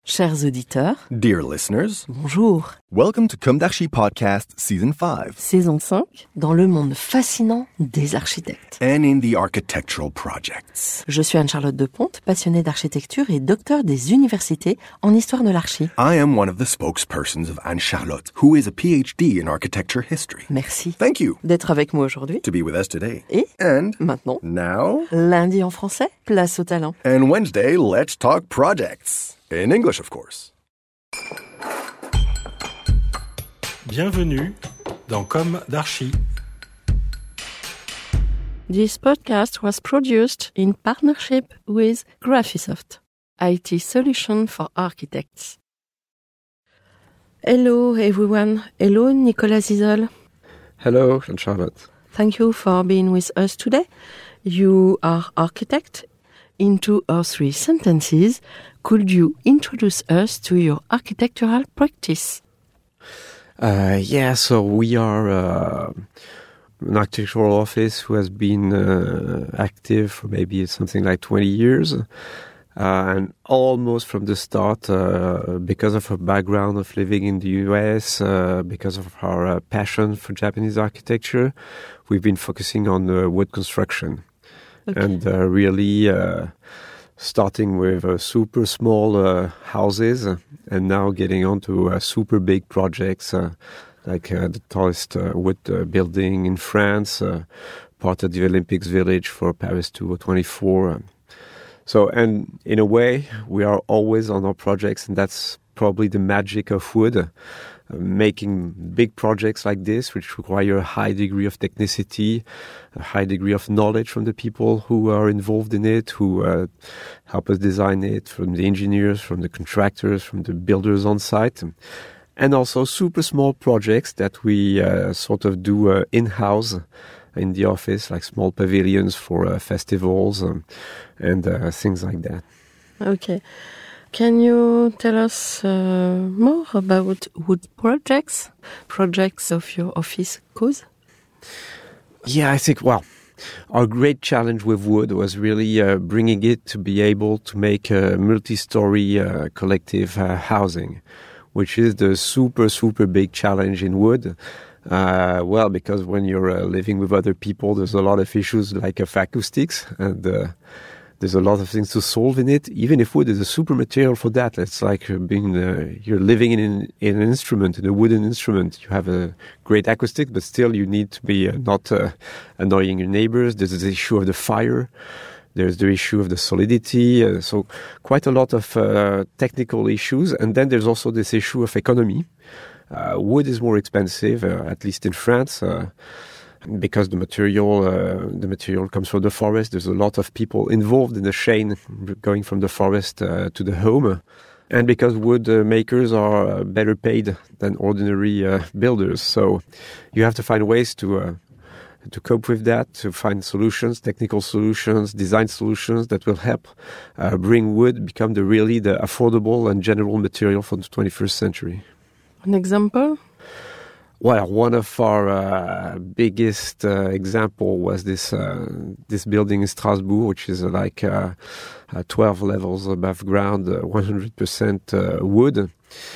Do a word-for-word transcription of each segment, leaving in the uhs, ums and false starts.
Chers auditeurs, dear listeners, bonjour. Welcome to Comme d'Archi Podcast Season five. Saison cinq, dans le monde fascinant des architectes. And in the architectural projects. Je suis Anne-Charlotte Deponte, passionnée d'architecture et docteur des universités en histoire de l'archi. I am one of the spokespersons of Anne-Charlotte, who is a P H D in architecture history. Merci. Thank you. D'être avec moi aujourd'hui. To be with us today. Et And maintenant, now, lundi en français, place au talent. and Wednesday, let's talk projects. In English, of course. Bienvenue dans Comme d'Archi. This podcast was produced in partnership with Graphisoft, I T solution for architects. Hello everyone. Hello Nicolas Isol. Hello, Charlotte. Thank you for being with us today. You are architect. In two or three sentences, could you introduce us to your architectural practice? Uh, yeah, so we are uh, an architectural office who has been uh, active for maybe something like twenty years. Uh, and almost from the start, uh, because of our background of living in the U S, uh, because of our uh, passion for Japanese architecture, we've been focusing on uh, wood construction. Okay. And uh, really uh, starting with uh, super small uh, houses and now getting on to uh, super big projects uh, like uh, the tallest uh, wood uh, building in France, uh, part of the Olympics Village for Paris twenty twenty-four. So, and in a way, we are always on our projects, and that's probably the magic of wood. Uh, making big projects like this, which require a high degree of technicity, a high degree of knowledge from the people who are involved in it, who uh, help us design it, from the engineers, from the contractors, from the builders on site, and also super small projects that we uh, sort of do uh, in-house in the office, like small pavilions for uh, festivals um, and uh, things like that. Okay. Can you tell us uh, more about wood projects, projects of your office cause? Yeah, I think, well, our great challenge with wood was really uh, bringing it to be able to make a multi-story uh, collective uh, housing, which is the super, super big challenge in wood. Uh, well, because when you're uh, living with other people, there's a lot of issues like of acoustics, and uh, there's a lot of things to solve in it. Even if wood is a super material for that, it's like being uh, you're living in an, in an instrument, in a wooden instrument. You have a great acoustic, but still you need to be uh, not uh, annoying your neighbors. There's the issue of the fire. There's the issue of the solidity. Uh, so quite a lot of uh, technical issues. And then there's also this issue of economy. Uh, wood is more expensive, uh, at least in France. Uh, Because the material, uh, the material comes from the forest, there's a lot of people involved in the chain going from the forest uh, to the home. And because wood uh, makers are uh, better paid than ordinary uh, builders. So you have to find ways to uh, to cope with that, to find solutions, technical solutions, design solutions that will help uh, bring wood become the really the affordable and general material for the twenty-first century. An example? Well, one of our uh, biggest uh, example was this uh, this building in Strasbourg, which is uh, like uh, uh, twelve levels above ground, uh, one hundred percent uh, wood.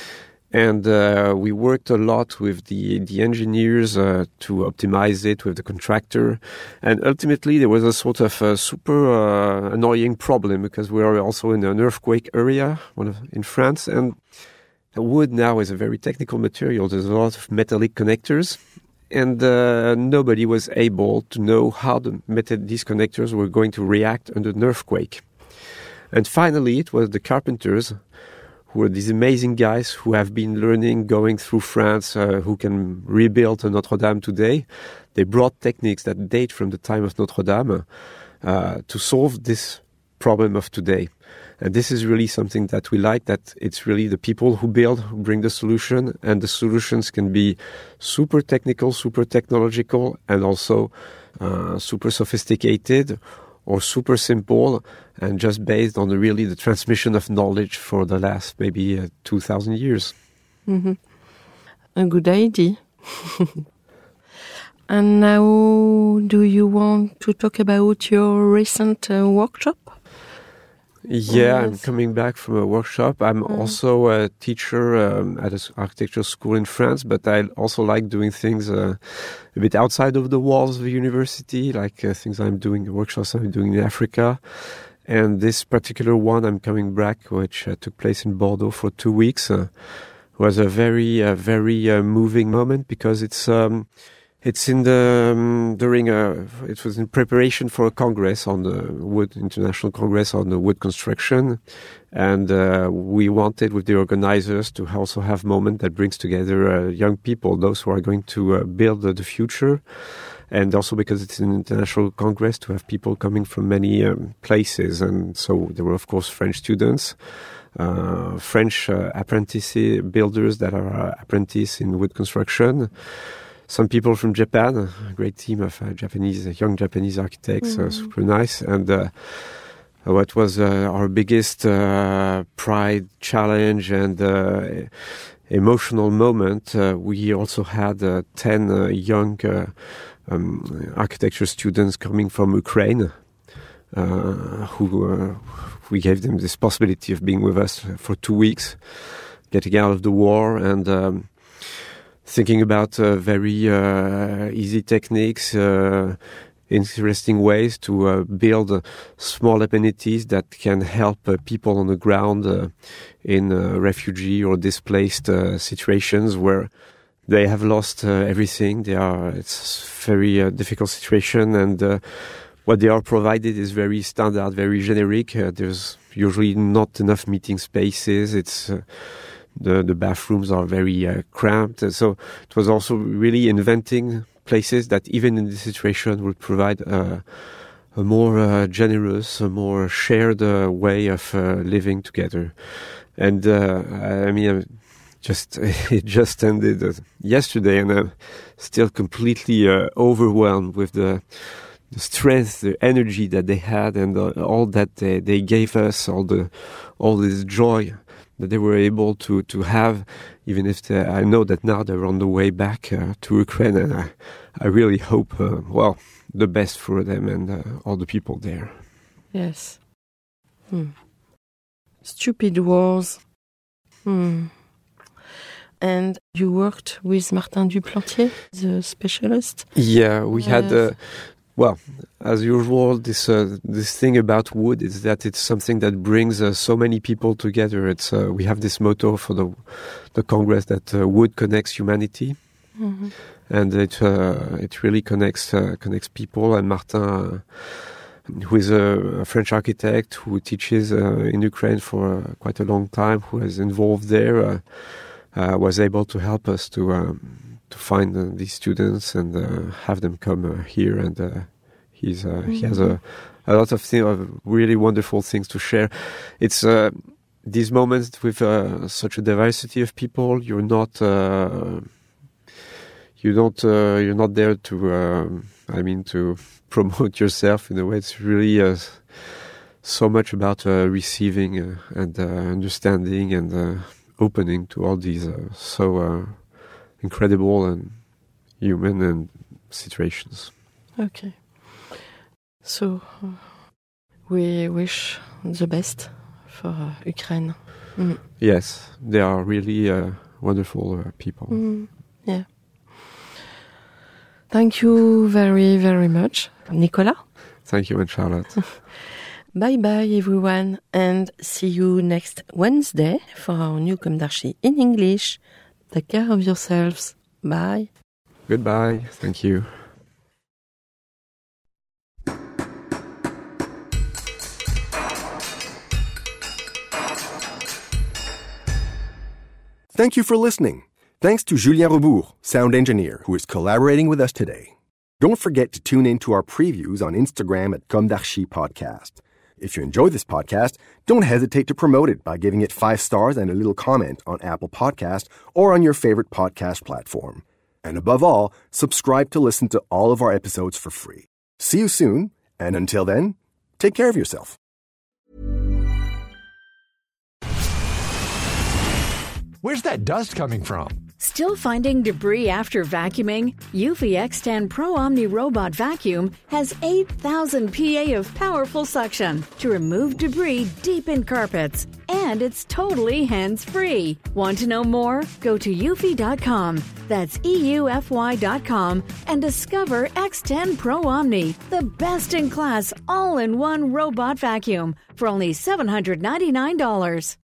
And uh, we worked a lot with the, the engineers uh, to optimize it with the contractor. And ultimately, there was a sort of a super uh, annoying problem because we are also in an earthquake area one of, in France. And wood now is a very technical material. There's a lot of metallic connectors, and uh, nobody was able to know how the metal- these connectors were going to react under an earthquake. And finally, it was the carpenters, who are these amazing guys who have been learning, going through France, uh, who can rebuild Notre Dame today. They brought techniques that date from the time of Notre Dame uh, to solve this problem of today. And this is really something that we like, that it's really the people who build, who bring the solution, and the solutions can be super technical, super technological, and also uh, super sophisticated or super simple, and just based on the, really the transmission of knowledge for the last maybe uh, two thousand years. Mm-hmm. A good idea. And now, do you want to talk about your recent uh, workshop? Yeah, Yes. I'm coming back from a workshop. I'm Mm. also a teacher um, at an architecture school in France, but I also like doing things uh, a bit outside of the walls of the university, like uh, things I'm doing, workshops I'm doing in Africa. And this particular one, I'm coming back, which uh, took place in Bordeaux for two weeks, uh, was a very, uh, very uh, moving moment because it's um, it's in the um, during a it was in preparation for a congress on the wood international congress on the wood construction, and uh, we wanted with the organizers to also have a moment that brings together uh, young people, those who are going to uh, build uh, the future. And also because it's an international congress, to have people coming from many um, places. And so there were, of course, French students, uh, French uh, apprentice builders that are uh, apprentices in wood construction, some people from Japan, a great team of uh, Japanese, young Japanese architects, mm-hmm. uh, super nice. And uh, what was uh, our biggest uh, pride, challenge, and uh, emotional moment, uh, we also had uh, ten uh, young uh, Um, architecture students coming from Ukraine, uh, who uh, we gave them this possibility of being with us for two weeks, getting out of the war and um, thinking about uh, very uh, easy techniques, uh, interesting ways to uh, build uh, small amenities that can help uh, people on the ground uh, in uh, refugee or displaced uh, situations where they have lost uh, everything. They are. It's a very uh, difficult situation, and uh, what they are provided is very standard, very generic. Uh, there's usually not enough meeting spaces. It's uh, the the bathrooms are very uh, cramped. And so it was also really inventing places that, even in this situation, would provide uh, a more uh, generous, a more shared uh, way of uh, living together. And uh, I mean. Uh, Just it just ended uh, yesterday, and I'm still completely uh, overwhelmed with the, the strength, the energy that they had, and uh, all that they, they gave us, all the all this joy that they were able to to have. Even if they, I know that now they're on the way back uh, to Ukraine, and I, I really hope uh, well the best for them and uh, all the people there. Yes. Hmm. Stupid wars. Hmm. And you worked with Martin Duplantier, the specialist? Yeah, we yes. had, uh, well, as usual, this uh, this thing about wood is that it's something that brings uh, so many people together. It's uh, we have this motto for the the Congress that uh, wood connects humanity, mm-hmm. and it uh, it really connects uh, connects people. And Martin, uh, who is a, a French architect who teaches uh, in Ukraine for uh, quite a long time, who is involved there. Uh, Uh, was able to help us to um, to find uh, these students and uh, have them come uh, here, and uh, he's uh, mm-hmm. he has a, a lot of, thing, of really wonderful things to share. It's uh, these moments with uh, such a diversity of people. You're not uh, you don't uh, you're not there to um, I mean to promote yourself in a way. It's really uh, so much about uh, receiving uh, and uh, understanding and. Uh, opening to all these uh, so uh, incredible and human and situations. Okay. So uh, we wish the best for uh, Ukraine. Mm. Yes, they are really uh, wonderful uh, people. Mm. Yeah. Thank you very, very much, Nicolas. Thank you, and Charlotte. Bye bye everyone, and see you next Wednesday for our new Comme d'Archi in English. Take care of yourselves. Bye. Goodbye. Thank you. Thank you for listening. Thanks to Julien Rebourg, sound engineer, who is collaborating with us today. Don't forget to tune in to our previews on Instagram at Comme d'Archi Podcast. If you enjoy this podcast, don't hesitate to promote it by giving it five stars and a little comment on Apple Podcast or on your favorite podcast platform. And above all, subscribe to listen to all of our episodes for free. See you soon, and until then, take care of yourself. Where's that dust coming from? Still finding debris after vacuuming? Eufy X ten Pro Omni Robot Vacuum has eight thousand P A of powerful suction to remove debris deep in carpets. And it's totally hands-free. Want to know more? Go to eufy dot com. That's E U F Y dot com and discover X ten Pro Omni, the best-in-class all-in-one robot vacuum for only seven hundred ninety-nine dollars.